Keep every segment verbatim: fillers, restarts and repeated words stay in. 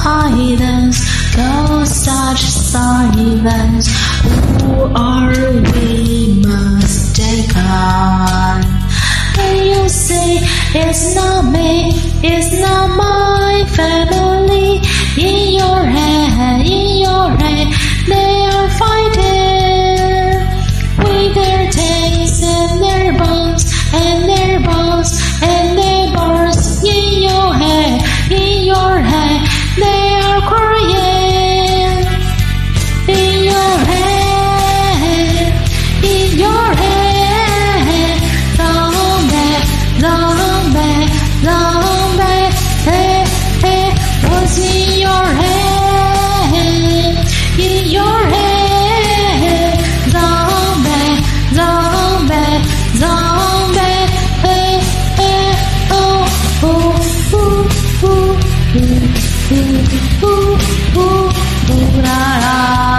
silence, goes such silence. Who are we mistaken? And you say it's not me, it's not my family. In your head, in your head, they are fighting with their tanks and their bombs and their bombs and their bars. In your head, in your head, they are crying. In your head, in your head, zombie, zombie, zombie, hey, hey, what's in your head? In your head, zombie, zombie, zombie, hey, hey, oh, oh, ooh, ooh, ooh, ooh, ooh, ooh, ooh, la, la.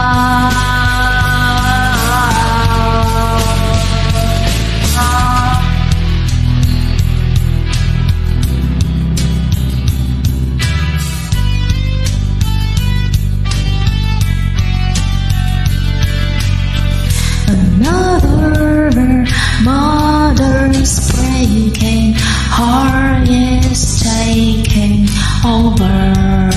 Another mother's breaking, heart is taking over.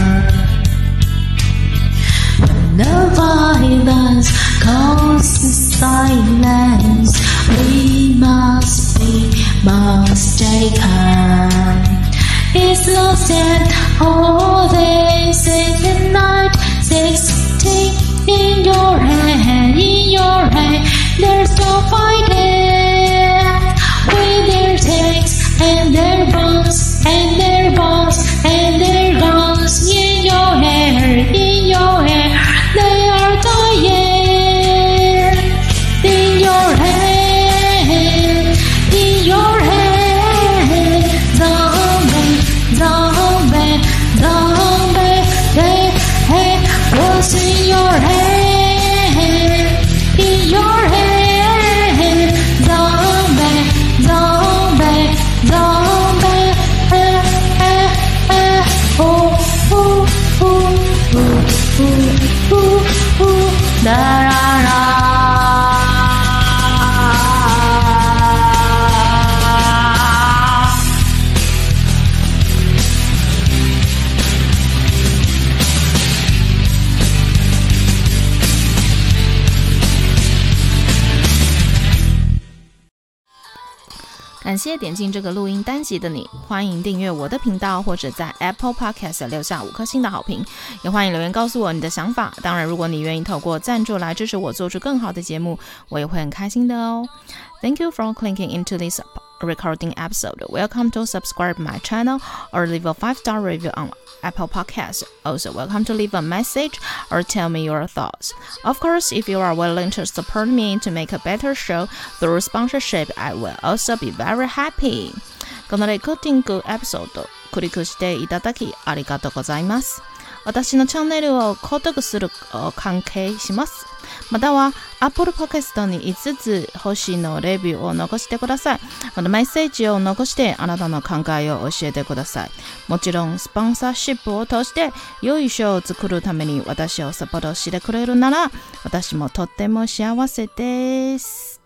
When the violence causes silence, we must be mistaken. It's lost and all this in the night, sixteen in your head, in your head. They're still fighting with their tanks and their bombs and their bombs and their guns. In your hair, in your hair, they are dying. In your head, in your head, zombie, zombie, zombie, hey, hey, what's in your head? In your head, zombie, zombie, zombie, eh, eh, eh, oh, ooh, ooh, ooh, ooh, ooh, ooh, da, da, da. 感謝點進這個錄音單集的你，歡迎訂閱我的頻道，或者在 Apple Podcast 留下五顆星的好評，也歡迎留言告訴我你的想法。當然，如果你願意透過贊助來支持我做出更好的節目，我也會很開心的哦。Thank you for clicking into this recording episode. Welcome to subscribe my channel or leave a five-star review on Apple Podcasts. Also, welcome to leave a message or tell me your thoughts. Of course, if you are willing to support me to make a better show through sponsorship, I will also be very happy. このレコーディングエピソード、クリックしていただきありがとうございます。私のチャンネルを購読する関係します。または Apple Podcast にいつつ星のレビューを残してください。またメッセージを残してあなたの考えを教えてください。もちろんスポンサーシップを通して良いショーを作るために私をサポートしてくれるなら私もとっても幸せです。